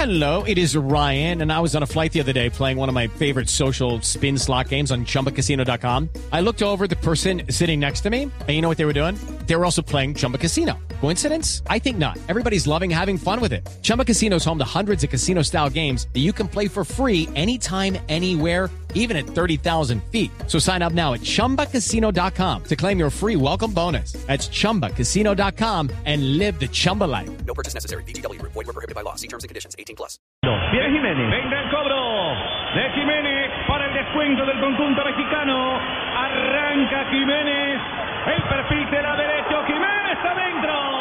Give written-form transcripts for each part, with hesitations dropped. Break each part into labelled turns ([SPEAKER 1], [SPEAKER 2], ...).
[SPEAKER 1] Hello, it is Ryan, and I was on a flight the other day playing one of my favorite social spin slot games on ChumbaCasino.com. I looked over at the person sitting next to me, and you know what they were doing? They were also playing Chumba Casino. Coincidence? I think not. Everybody's loving having fun with it. Chumba Casino is home to hundreds of casino-style games that you can play for free anytime, anywhere, even at 30,000 feet. So sign up now at ChumbaCasino.com to claim your free welcome bonus. That's ChumbaCasino.com and live the Chumba life.
[SPEAKER 2] No purchase necessary. VGW. Void were prohibited by law. See terms and conditions. 18+.
[SPEAKER 3] Viene Jiménez.
[SPEAKER 4] Venga el cobro de Jiménez para el descuento del conjunto mexicano. Arranca Jiménez. El perfil de la derecha. Jiménez adentro.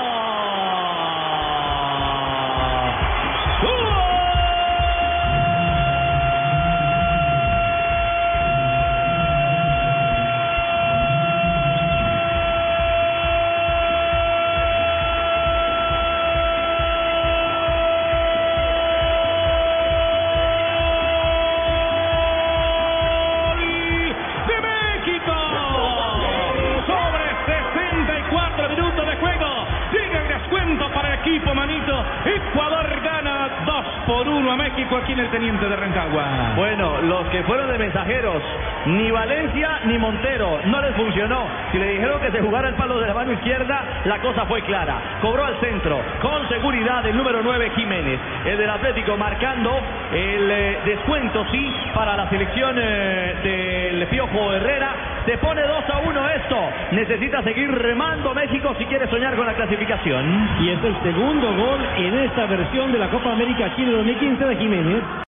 [SPEAKER 4] Para el equipo, manito. Ecuador gana 2-1 a México aquí en el Teniente de Rancagua.
[SPEAKER 3] Bueno, los que fueron de mensajeros, ni Valencia ni Montero, no les funcionó. Si le dijeron que se jugara el palo de la mano izquierda, la cosa fue clara. Cobró al centro, con seguridad, el número 9, Jiménez. El del Atlético marcando el descuento, sí, para la selección del Piojo Herrera. Se pone 2-1 esto. Necesita seguir remando México si quiere soñar con la clasificación.
[SPEAKER 5] Y es el segundo gol en esta versión de la Copa América Chile 2015 de Jiménez.